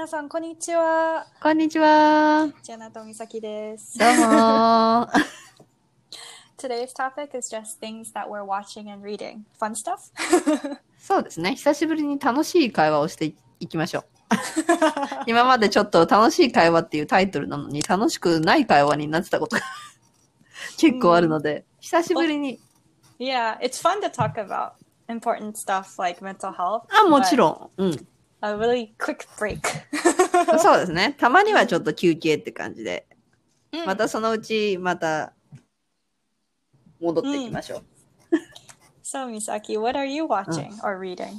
皆さん、こんにちは。 こんにちは。 ジャナとみさきです。 どうも。 Today's topic is just things that we're watching and reading. Fun stuff? そうですね。久しぶりに楽しい会話をしていきましょう。今までちょっと楽しい会話っていうタイトルなのに楽しくない会話になってたことが結構あるので、久しぶりに。 Yeah, it's fun to talk about important stuff like mental health. あ、もちろん。うん。 A really quick break. そうですね。たまにはちょっと休憩って感じで。またそのうちまた戻っていきましょう。 So, Misaki, what are you watching or reading?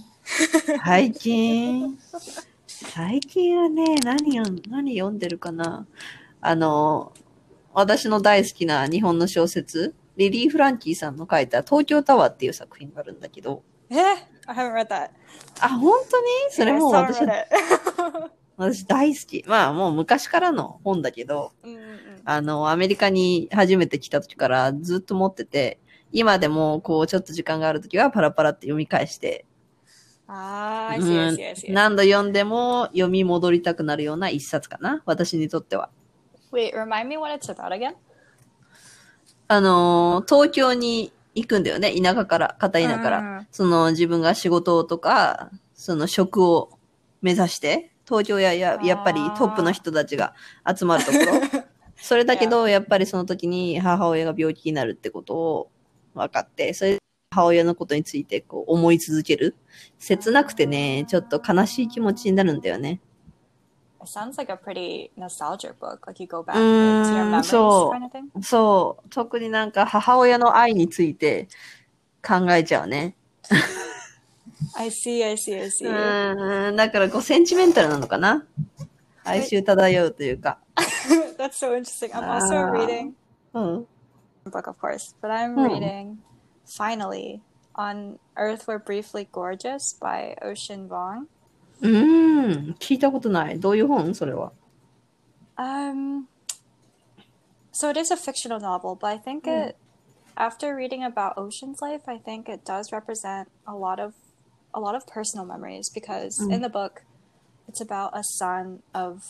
最近はね、何読んでるかな。私の大好きな日本の小説、リリー・フランキーさんの書いた東京タワーっていう作品があるんだけど。 I haven't read that. あ、本当にそれもう私大好き。まあもう昔からの本だけど、アメリカに初めて来た時からずっと持ってて、今でもこうちょっと時間がある時はパラパラって読み返して、 I see. 何度読んでも読み戻りたくなるような一冊かな、私にとっては。 Wait, remind me what it's about again? 東京に行くんだよね、片田舎から。その自分が仕事とか、その職を目指して、東京やっぱりトップの人たちが集まるところ。それだけど、やっぱりその時に母親が病気になるってことを分かって、それで母親のことについてこう思い続ける。切なくてね、ちょっと悲しい気持ちになるんだよね。 It sounds like a pretty nostalgic book. Like you go back to your memories kind of thing. そう。特になんか母親の愛について考えちゃうね。 I see. だからこうセンチメンタルなのかな。哀愁漂うというか。 That's so interesting. I'm also reading a book, of course, but I'm reading finally On Earth We're Briefly Gorgeous by Ocean Vuong. 聞いたことない。どういう本それは。 So it is a fictional novel, but I think after reading about Ocean's life, I think it does represent a lot of personal memories because in the book, it's about a son of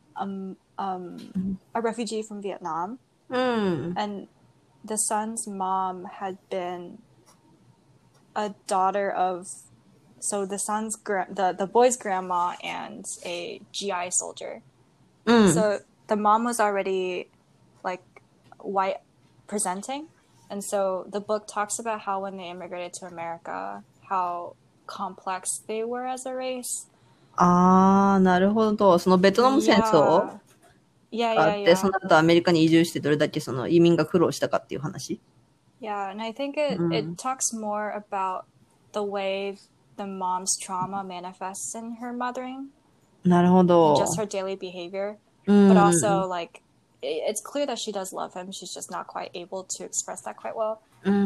a refugee from Vietnam, and the son's mom had been a daughter of, so the son's the boy's grandma and a GI soldier. So the mom was already like white presenting, and so the book talks about how when they immigrated to America, how complex they were as a race. なるほど。そのベトナム戦争があって、その後アメリカに移住してどれだけその移民が苦労したかっていう話。 Yeah, and I think it talks more about the way the mom's trauma manifests in her mothering. なるほど。 And just her daily behavior. But also, like, it's clear that she does love him. She's just not quite able to express that quite well.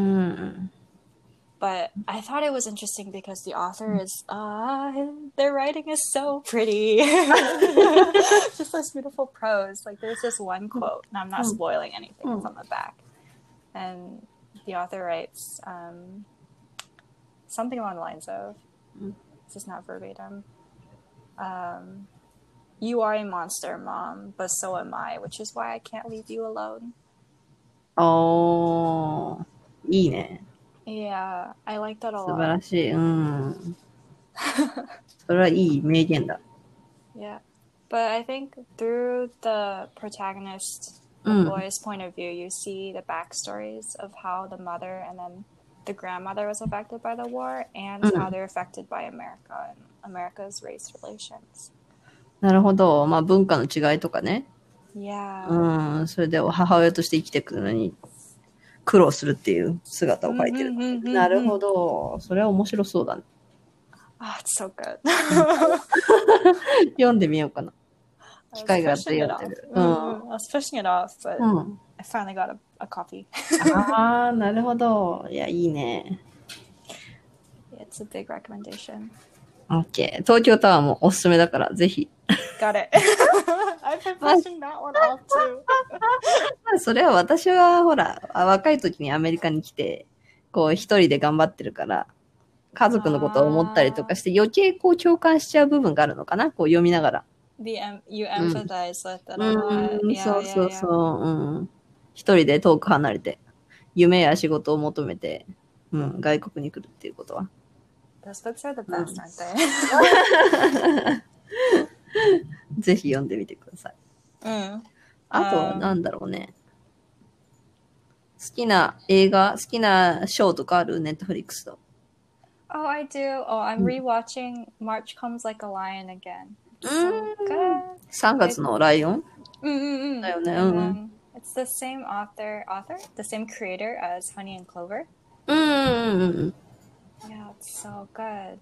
But I thought it was interesting because the author is, their writing is so pretty. Just this beautiful prose. Like, there's this one quote, and I'm not spoiling anything, it's on the back. And the author writes something along the lines of, this is not verbatim, you are a monster, Mom, but so am I, which is why I can't leave you alone. いいね。 Yeah, I like that a lot. 素晴らしい。それはいい名言だ。 Yeah, but I think through the protagonist, the boy's point of view, you see the backstories of how the mother and then the grandmother was affected by the war and how they're affected by America and America's race relations. なるほど。まあ文化の違いとかね。 Yeah. それで母親として生きていくのに苦労するっていう姿を描いてる。なるほど。それは面白そうだね。 It's so good. 読んでみようかな。機会があって読んでる。 I was pushing it off, but I finally got a copy. なるほど。いや、いいね。 It's a big recommendation. OK。東京タワーもおすすめだから、ぜひ。 Got it. I've been pushing that one off too. それは私はほら、若い時にアメリカに来て、こう一人で頑張ってるから、家族のことを思ったりとかして余計こう共感しちゃう部分があるのかな、こう読みながら。 you empathize with it a lot. Yeah, そうそう yeah, そ yeah. う。うん。一人で遠く離れて、夢や仕事を求めて、外国に来るっていうことは。 Those books are the best, aren't they? ぜひ読んでみてください。あとはなんだろうね。好きな映画、好きなショーとかある？ネットフリックスと。 Oh, I do. Oh, I'm rewatching March Comes Like a Lion again. So good. 3月のライオンだよね。 It's the same author, the same creator as Honey and Clover. Yeah, it's so good.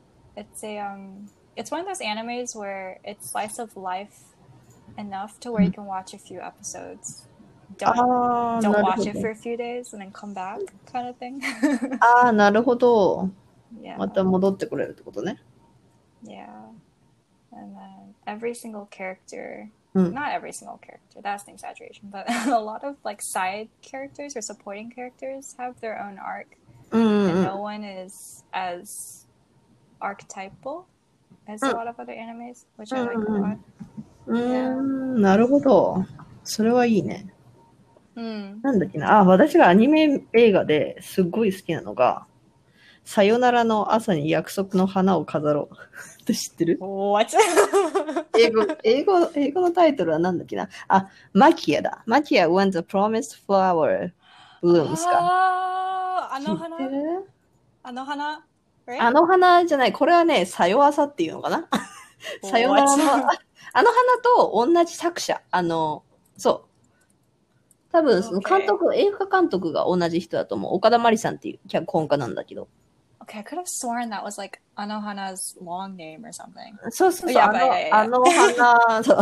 It's one of those animes where it's slice of life enough to where you can watch a few episodes. Don't watch it for a few days and then come back, kind of thing. なるほど。また戻ってこれるってことね。 Yeah. And then every single character, not every single character, that's an exaggeration, but a lot of like side characters or supporting characters have their own arc. And no one is as archetypal as a lot of other animes, which I like a lot. なるほど。それはいいね。なんだっけな。私がアニメ映画ですごい好きなのが、さよならの朝に約束の花を飾ろう。って知ってる？ What? 英語のタイトルはなんだっけな。マキアだ。マキア when the promised flower blooms か。 あの花？あの花？ あの花じゃない。これはね、さよあさっていうのかな。さよならの、あの花と同じ作者。そう。多分、その監督、映画監督が同じ人だと思う。岡田真理さんっていう脚本家なんだけど。 Okay, I could have sworn that was like Anohana's long name or something. そうそうそう。あの花、そう。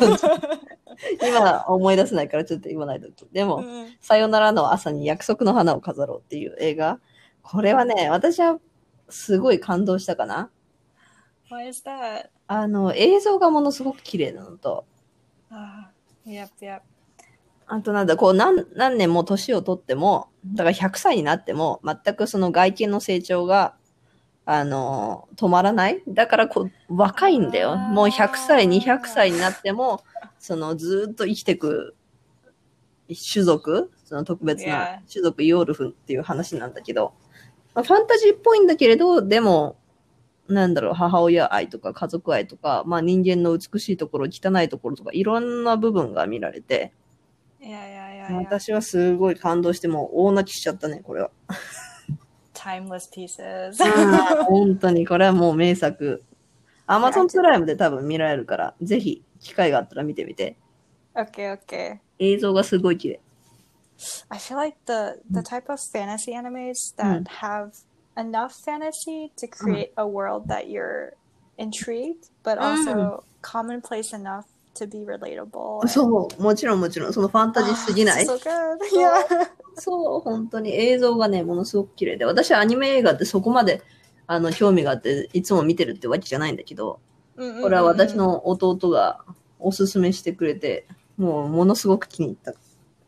今思い出せないからちょっと言わないと。でも、さよならの朝に約束の花を飾ろうっていう映画。これはね、私はすごい感動したかな。 Why is that? 映像がものすごく綺麗なのと。 Yep. あとなんだ、こう何年も年を取っても、だから100歳になっても、全くその外見の成長が、止まらない。だから若いんだよ。もう100歳、200歳になっても、ずっと生きていく種族、その特別な種族ヨールフっていう話なんだけど、ファンタジーっぽいんだけれど、でも、なんだろう、母親愛とか家族愛とか、人間の美しいところ、汚いところとか、いろんな部分が見られて、私はすごい感動してもう大泣きしちゃったね、これは。 Timeless pieces. 本当に、これはもう名作。Amazon プライムで多分見られるから、ぜひ機会があったら見てみて。 Okay. 映像がすごい綺麗。 I feel like the type of fantasy animes that have enough fantasy to create a world that you're intrigued, but also commonplace enough to be relatable. そう、もちろん、そのファンタジーすぎない。 So good. Yeah. そう、本当に映像がね、ものすごく綺麗で、私はアニメ映画ってそこまで興味があっていつも見てるってわけじゃないんだけど、これは私の弟がおすすめしてくれて、もうものすごく気に入った。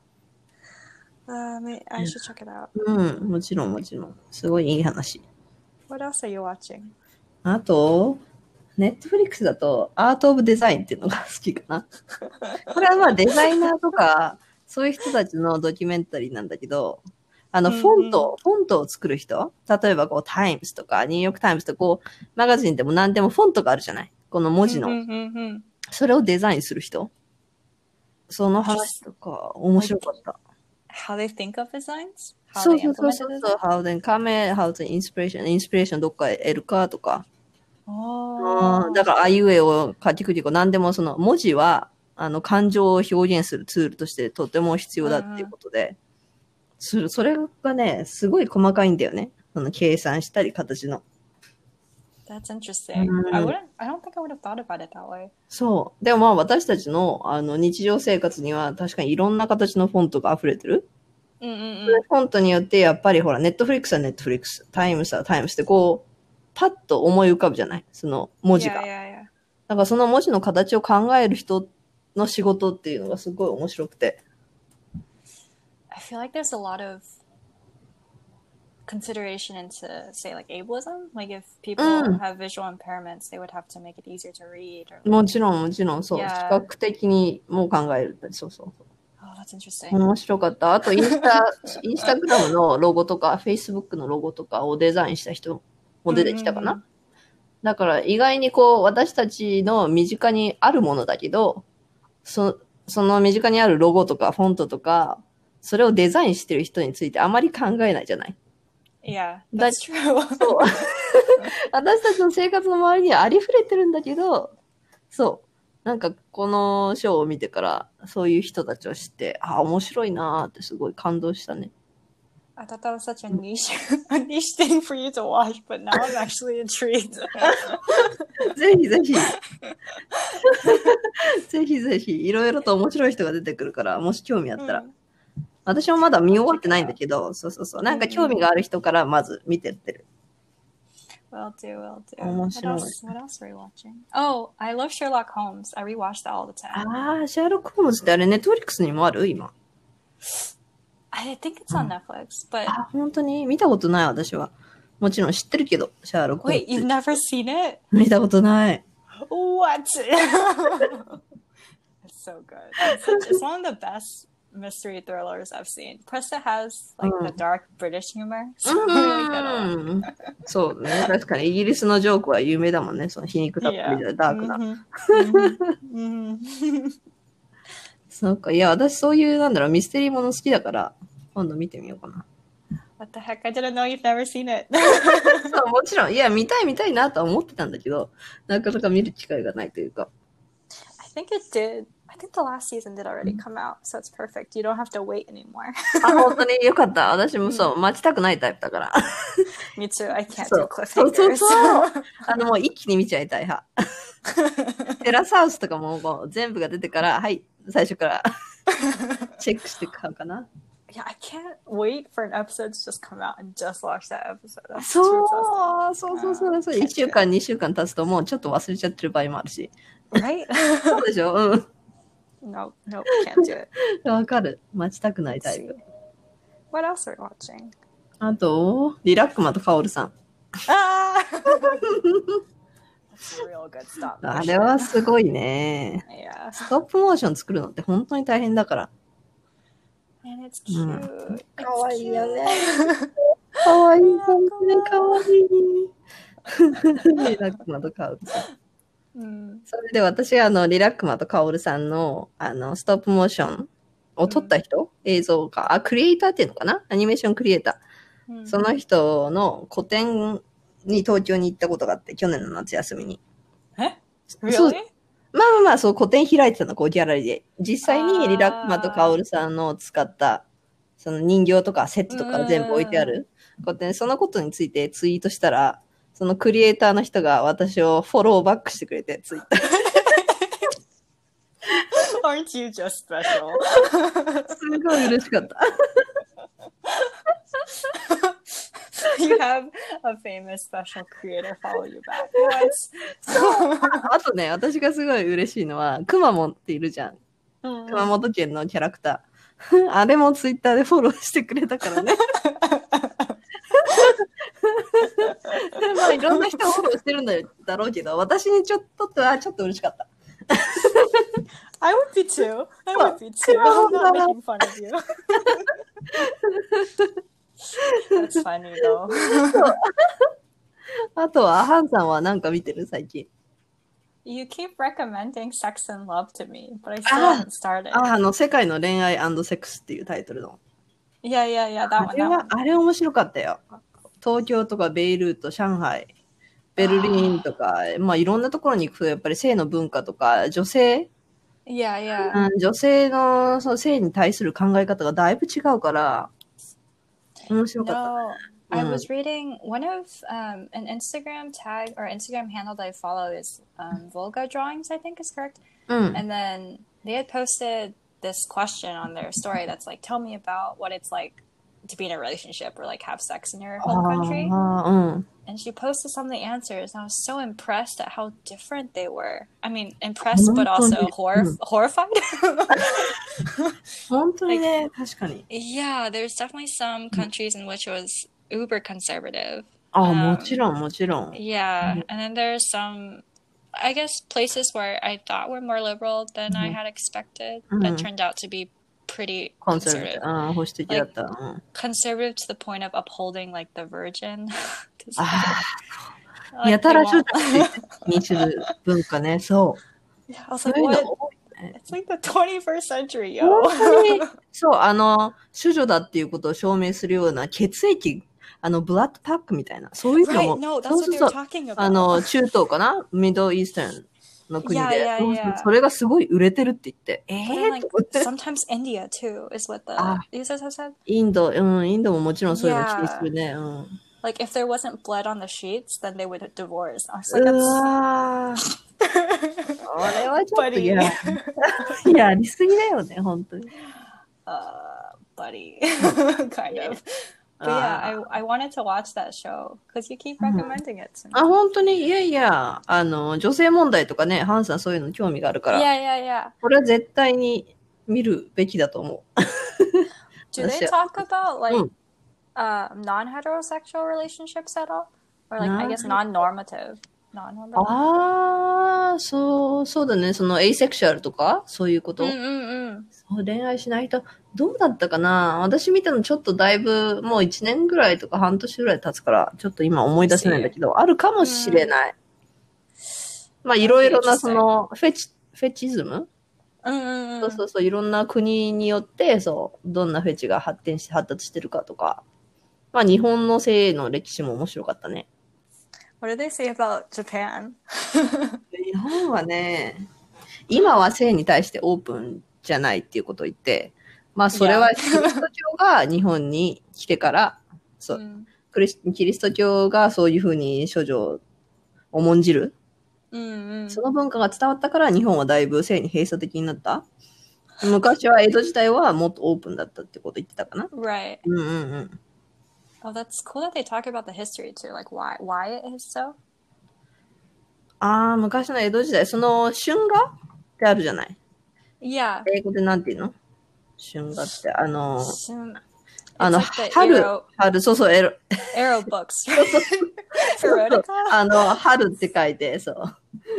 I should check it out. もちろん。すごいいい話。 What else are you watching? あと、ネットフリックスだとアートオブデザインっていうのが好きかな。これはデザイナーとか、そういう人たちのドキュメンタリーなんだけど、フォントを作る人、例えばタイムズとか、ニューヨークタイムズとか、マガジンでも何でもフォントがあるじゃない。この文字の。それをデザインする人。その話とか、面白かった。 How they think of designs? そう。How they come, how the inspiration どっか得るかとか。だから、あいうえを書きくり何でもその文字は、感情を表現するツールとしてとても必要だっていうことで、それがね、すごい細かいんだよね。計算したり形の。 That's interesting. I don't think I would have thought about it that way. そう。でも私たちの、日常生活には確かにいろんな形のフォントが溢れてる。フォントによってやっぱりほら、ネットフリックスはネットフリックス、タイムスはタイムスってパッと思い浮かぶじゃないその文字が。だからその文字の形を考える人の仕事っていうのがすごい面白くて。 I feel like there's a lot of consideration into, say, like ableism? Like if people have visual impairments, they would have to make it easier to read. Or もちろん、もちろん、そう。視覚的にも考える。そうそう。 Oh, that's interesting. 面白かった。あとインスタグラムのロゴとか、Facebook のロゴとかをデザインした人も出てきたかな。だから意外にこう、私たちの身近にあるものだけど、その身近にあるロゴとかフォントとか、それをデザインしてる人についてあまり考えないじゃない。 Yeah, that's true. そう私たちの生活の周りにはありふれてるんだけど、そう。なんかこのショーを見てからそういう人たちを知って、あ、面白いなーってすごい感動したね。 I thought that was such a niche thing for you to watch, but now I'm actually intrigued. ぜひぜひ。ぜひぜひ。いろいろと面白い人が出てくるから、もし興味あったら。私もまだ見終わってないんだけど、そうそうそう。なんか興味がある人からまず見てってる。 Will do, will do. 面白い。 What else are you watching? Oh, I love Sherlock Holmes. I rewatch that all the time. ああ、シャーロック・ホームズってあれ、ネットフリックスにもある今。 I think it's on Netflix, but... あ、本当に見たことない、私は。もちろん知ってるけど、シャーロック・ホームズ。 Wait, you've never seen it? 見たことない。 What? It's so good. It's one of the best mystery thrillers I've seen. Plus it has like the dark British humor. So really good. そうね。確かにイギリスのジョークは有名だもんね。その皮肉たっぷりでダークな。そうか。いや、私そういうなんだろう、ミステリーもの好きだから、今度見てみようかな。 What the heck? I didn't know you've never seen it. そう、もちろん。いや、見たいなとは思ってたんだけど、なかなか見る機会がないというか。 I think it did.I think the last season did already come out, so it's perfect. You don't have to wait anymore. あ、本当によかった。私もそう、待ちたくないタイプだから。 Me too. I can't do cliffhangers. そうもう一気に見ちゃいたい派。テラスハウスとかも全部が出てから、はい、最初からチェックして買うかな。 Yeah, I can't wait for an episode to just come out and just watch that episode. そう。1週間、2週間経つともうちょっと忘れちゃってる場合もあるし。 Right? そうでしょうん。 No, can't do it. わかる。待ちたくないタイプ。 What else are you watching? あと、リラックマとカオルさん。 ああれはすごいね。ストップモーション作るのって本当に大変だから。 And it's cute. かわいいよね。かわいい、本当にかわいい。リラックマとカオルさん。それで私はリラックマとカオルさんのストップモーションを撮った人、映像か、クリエイターっていうのかな、アニメーションクリエイター。その人の個展に東京に行ったことがあって、去年の夏休みに。 Really? まあ、そう、個展開いてたの、こう、ギャラリーで。実際にリラックマとカオルさんの使った、その人形とかセットとか全部置いてある個展、そのことについてツイートしたら、そのクリエイターの人が私をフォローバックしてくれて、ツイッター。 Aren't you just special? すごい嬉しかった。 You have a famous special creator follow you back. What? あとね、私がすごい嬉しいのは、くまモンっているじゃん。熊本県のキャラクター。あれもツイッターでフォローしてくれたからね。まあいろんな人フォローしてるんだろうけど、私にちょっと嬉しかった。 I would be too. I'm not making fun of you. That's funny though. あとは、ハンさんは何か見てる最近。 You keep recommending Sex and Love to me, but I still haven't started. 世界の恋愛&セックスっていうタイトルの。 Yeah, that one. あれ面白かったよ。東京とかベイルート、上海、ベルリンとか、まあいろんなところに行くとやっぱり性の文化とか、女性、女性のその性に対する考え方がだいぶ違うから、面白かった。 I was reading one of an Instagram tag or Instagram handle that I follow is Volga Drawings, I think is correct. And then they had posted this question on their story that's like, tell me about what it's like to be in a relationship or like have sex in your home country. And she posted some of the answers and I was so impressed at how different they were. I mean, impressed but also horrified. 本当にね、確かに。 Yeah, there's definitely some countries in which it was uber conservative. ああ、もちろん、もちろん。 Yeah, and then there's some, I guess, places where I thought were more liberal than I had expected, that turned out to be pretty コンサルで、 conservative. ああ、保守的だった。 Conservative to the point of upholding like the virgin. ああ、 Like, や they たら処 won't. 女にする文化ね、そう。 Yeah, I was そう like, いうの what? 多いね。 It's like the 21st century, 本 yo. 当に、そう、処女だっていうことを証明するような血液、ブラッドパックみたいな、そういうの Right, も、 no, that's そう what そう they そ were う、 talking about. 中東かなミドルイースタンの国 Yeah, で、 yeah, そうそう yeah. それがすごい売れてるって言って、 But then, like, と思って。 sometimes India too is what the あ、 users have said. インドももちろんそういうの気にするね。 Like, if there wasn't blood on the sheets, then they would divorce. I was う like, わー。これはちょっと buddy. やりすぎだよね、本当に。 Buddy. Kind of. But yeah, I wanted to watch that show because you keep recommending it to me. あ、本当にいやいや、女性問題とかね、ハンさんそういうの興味があるから。 Yeah, yeah, yeah. これは絶対に見るべきだと思う。 Do they talk about like non-heterosexual relationships at all? Or like, I guess non-normative. ああ、そうだね。そのエイセクシュアルとかそういうこと。そう恋愛しない人、どうだったかな。私見たのちょっとだいぶもう1年ぐらいとか半年ぐらい経つから、ちょっと今思い出せないんだけど、あるかもしれない。まあいろいろなそのフェチズム、そういろんな国によってどんなフェチが発達してるかとか、まあ日本の性の歴史も面白かったね。 What did they say about Japan? 日本はね、今は性に対してオープンじゃないっていうことを言って、まあそれはキリスト教が日本に来てから、キリスト教がそういうふうに処女を重んじる、その文化が伝わったから日本はだいぶ性に閉鎖的になった。昔は江戸時代はもっとオープンだったってこと言ってたかな。 Right. Oh, that's cool that they talk about the history too, like why it is so. 昔の江戸時代、その春画ってあるじゃない。 Yeah. 英語でなんていうの？春画って春、そうそう、エロ books. Erotica? 春って書いて、そう。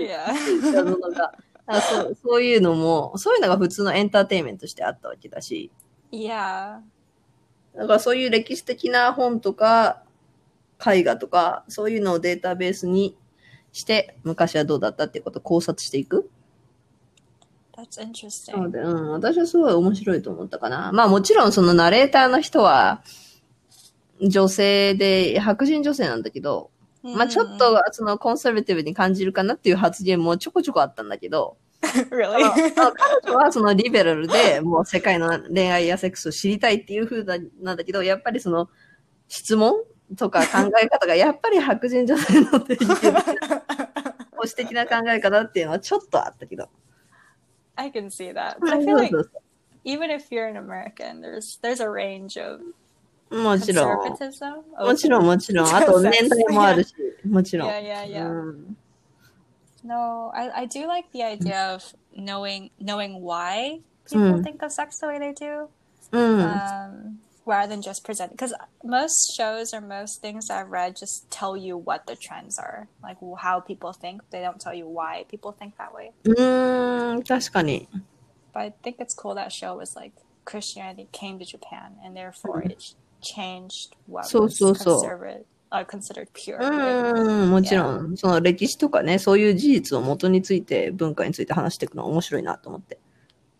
Yeah. そういうのも、そういうのが普通のエンターテインメントとしてあったわけだし。 Yeah. だからそういう歴史的な本とか、絵画とか、そういうのをデータベースにして、昔はどうだったっていうことを考察していく。 That's interesting. そうで、私はすごい面白いと思ったかな。まあもちろんそのナレーターの人は、女性で、白人女性なんだけど、まあちょっとそのコンサバティブに感じるかなっていう発言もちょこちょこあったんだけど、 Really? 彼女はそのリベラルでもう世界の恋愛やセックスを知りたいっていう風なんだけど、やっぱりその質問とか考え方がやっぱり白人女性の保守的な考え方っていうのはちょっとあったけど。 I can see that. But I feel like even if you're an American, there's a range of もちろん。 conservatism. もちろん、もちろん。あと年代もあるし、もちろん。 Yeah. No, I do like the idea of knowing why people think of sex the way they do, rather than just present. Because most shows or most things I've read just tell you what the trends are, like how people think. They don't tell you why people think that way. 確かに。 But I think it's cool that show was like Christianity came to Japan and therefore it changed what was considered pure. もちろん、その歴史とかね、そういう事実を元について文化について話していくのは面白いなと思って。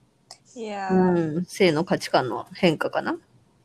性の価値観の変化かな。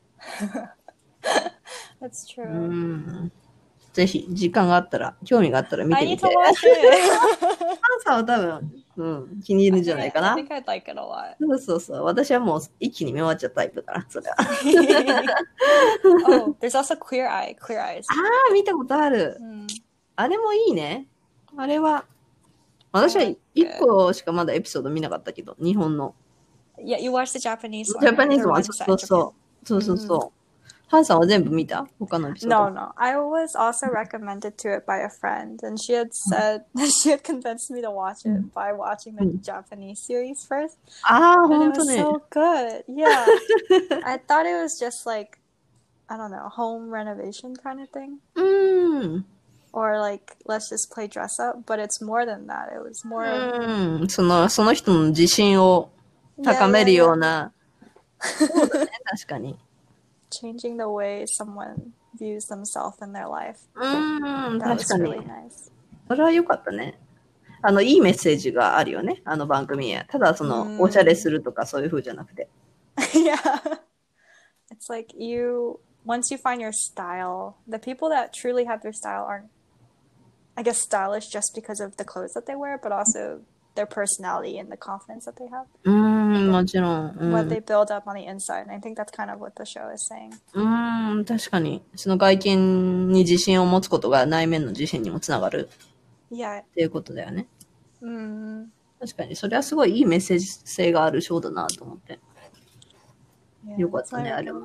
That's true. ぜひ時間があったら、興味があったら見てみて。ハンさんは多分、気に入るんじゃないかな。 I think I'd like it a lot. そう。私はもう一気に見終わっちゃったタイプだから、それは。 Oh, there's also Queer Eyes. 見たことある。あれもいいね。あれは、私は一個しかまだエピソード見なかったけど、日本の。 Yeah, you watched the Japanese one. Japanese one. そう。ハンさんは全部見た？他のエピソード。 No. I was also recommended to it by a friend, and she had said she had convinced me to watch it by watching the Japanese series first. And it was so good. Yeah. I thought it was just like I don't know, home renovation kind of thing. Or like, let's just play dress up. But it's more than that. It was more of...その人の自信を高めるような。そうだね、確かに。 Changing the way someone views themselves in their life. 確かに。それは良かったね。いいメッセージがあるよね、番組へ。ただ、おしゃれするとかそういう風じゃなくて。 Yeah. It's like once you find your style, the people that truly have their style aren't, I guess, stylish just because of the clothes that they wear, but also their personality and the confidence that they have. もちろん。 What they build up on the inside. And I think that's kind of what the show is saying. 確かに。その外見に自信を持つことが内面の自信にもつながる。っていうことだよね。確かに。それはすごいいいメッセージ性があるショーだなと思って。よかったね、あれは。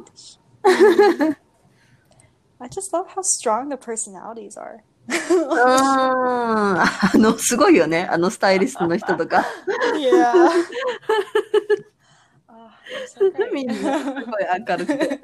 I just love how strong the personalities are. すごいよね。スタイリストの人とか。 Yeah. みんなすごい明るくて。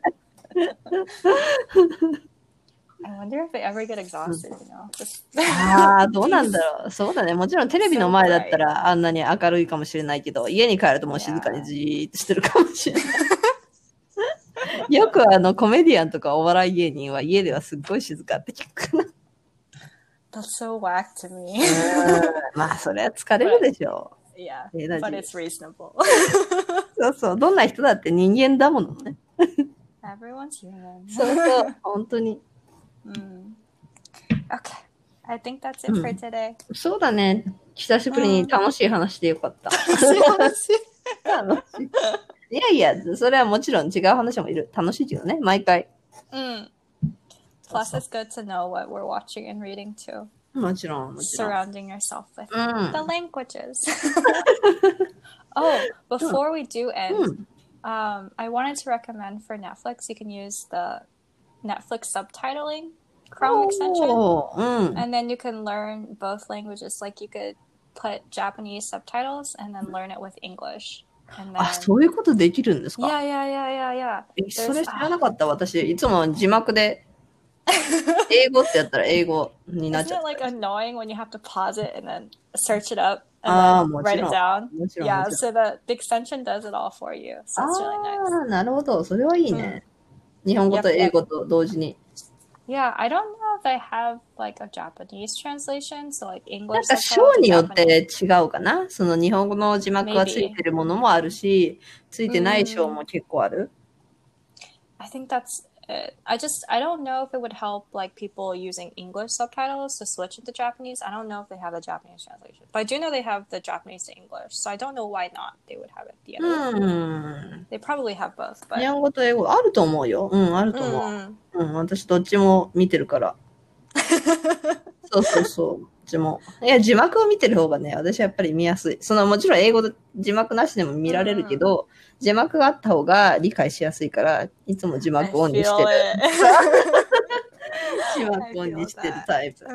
I wonder if they ever get exhausted, you know? どうなんだろう。そうだね。もちろんテレビの前だったらあんなに明るいかもしれないけど、家に帰るともう静かにじーっとしてるかもしれない。よくコメディアンとかお笑い芸人は家ではすっごい静かって聞くかな。 That's so whack to me. まあ、それは疲れるでしょう。Yeah, but it's reasonable. そうそう。どんな人だって人間だものね。 Everyone's human. そうそう。本当に。 Okay. I think that's it for today. そうだね。久しぶりに楽しい話でよかった。楽しい。いやいや、それはもちろん違う話もいる。楽しいけどね、毎回。 Plus, it's good to know what we're watching and reading too. もちろん。 Surrounding yourself with the languages. Before we do end, I wanted to recommend for Netflix, you can use the Netflix subtitling Chrome extension. And then you can learn both languages. Like you could put Japanese subtitles and then learn it with English. そういうことできるんですか？ Yeah. それ知らなかった。私、いつも字幕で英語ってやったら英語になっちゃった。 Isn't it like annoying when you have to pause it and then search it up and then write it down? Yeah, so the extension does it all for you. So it's really nice. なるほど。それはいいね。日本語と英語と同時に。 Yeah, I don't know if I have like a Japanese translation, so like English. なんか章によって違うかな。その日本語の字幕がついてるものもあるし、ついてない章も結構ある。 I think that's it. I don't know if it would help like people using English subtitles to switch into Japanese. I don't know if they have the Japanese translation, but I do know they have the Japanese to English, so I don't know why not they would have it the other way. They probably have both, but 日本語と英語あると思うよ。あると思う。私どっちも見てるから。そう。どっちも。いや、字幕を見てる方がね、私はやっぱり見やすい。もちろん英語で字幕なしでも見られるけど、字幕があった方が理解しやすいから、いつも字幕オンにしてる。字幕オンにしてるタイプ。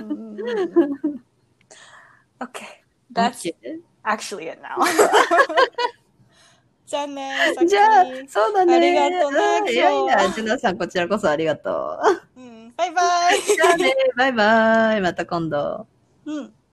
Okay, that's actually it now. じゃあね。 じゃあ、そうだね。 ありがとうね。 いや、ジュナさん、こちらこそありがとう。 バイバイ。 じゃあね、バイバイ。また今度。